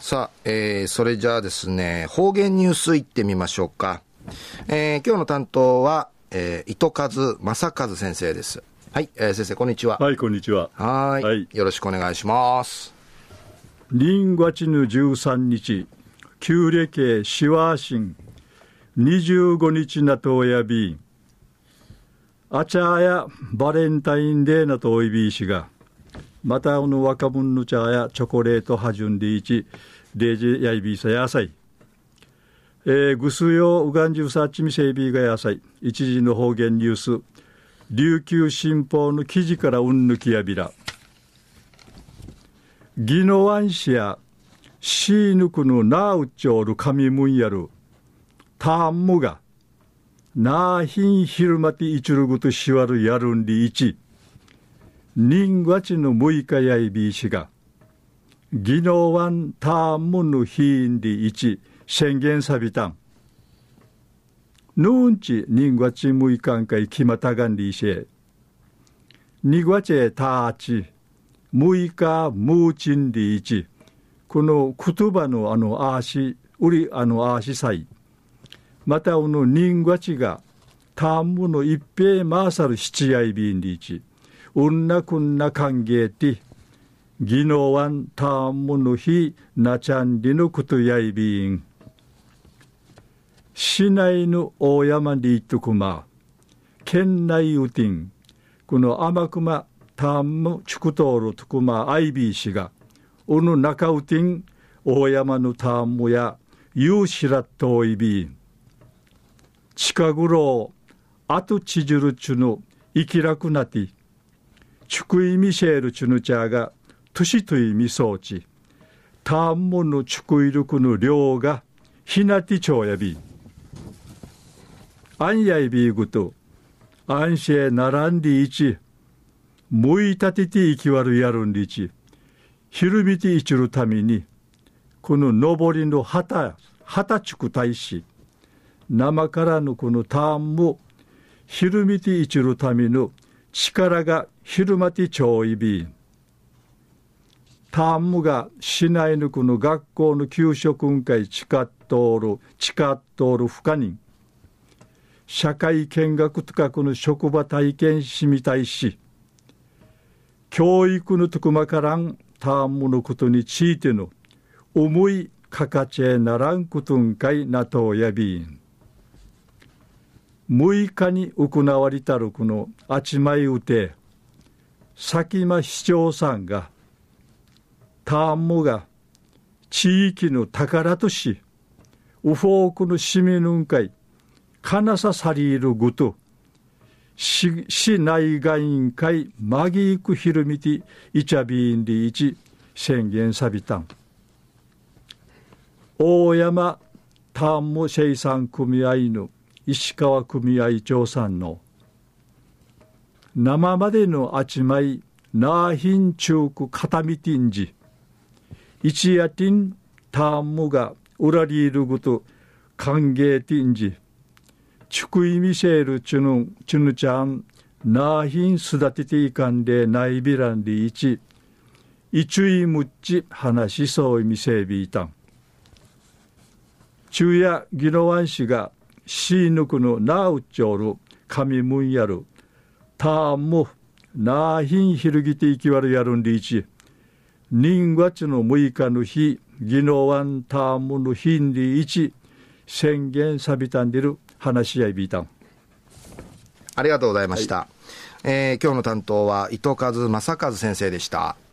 さあ、それじゃあですね、方言ニュースいってみましょうか。今日の担当は、糸数正和先生です。はい、先生こんにちは。 はい、こんにちは。 はい、よろしくお願いします。 2月の13日、旧暦シワーシン25日なとやびん、あちゃやバレンタインデーなとおいびいしが、またの若者の茶やチョコレートはじゅんでいち、デージやいびいさやさい。ぐすようがんじゅさっちみせいびいがやさい。一時の方言ニュース、琉球新報の記事からうんぬきやびら。宜野湾市やシーヌクのナウチョール神ムンやるターンムがナーヒンヒルマティイチュルグとしわるやるんりいち人月の6日やいびいしが宜野湾ターンムのヒーンりいち宣言さびたんぬんち人月6日んかいきまたがんりいしえに月へたーち6日ムーチンリーチこの言葉のアーシウリアーシサイまた人月がタームの一平マーサル七やいびんリーチうんなくんな歓迎て宜野湾タームの日なちゃんりのことやいびん市内の大山リートクマ県内うてんこの天熊タームチュクトールトクマアイビー氏がおの中うてん大山のタームやユーシラットイビー近頃あとちじゅるちゅの生きらくなってチュクイミシェルチュヌチャーがトシトイミソーチタームのチュクイルクの量がひなてちょうやびアンヤイビーグとアンシェナランディイチむいたてて生きわるやるんりちひるみていちるためにこの上りの旗ちく大使生からのこのターンもひるみていちるための力がひるまてちょういびターンもが市内のこの学校の給食会地下通る不可人社会見学とかこの職場体験しみたいし教育のとくまからんターンのことについての思いかかちえならんことんかいなとやびん6日に行われたるこのあちまいうて佐喜眞市長さんがターンもが地域の宝としウフォークの市民のんかいかなささりるごと市内外委員会マギークヒルミティイチャビーンリーチ宣言さびたん大山ターンム生産組合の石川組合長さんの生までのあちまいナーヒンチューク片見ティンジ一夜ティンターンムがウラリールグと歓迎ティンジチュクイミシェルチュヌちゃんナーヒン育てていかんでないびらんりいちいちゅいむっち話しそういみせびいたん昼夜宜野湾市がシーヌクのナウチョール神ムンやるターンもナーヒンひるぎていきわるやるんりいち人月の6日の日宜野湾ターンムの日んりいち宣言さびたんでる話し合いビータンありがとうございました、今日の担当は糸数正和先生でした。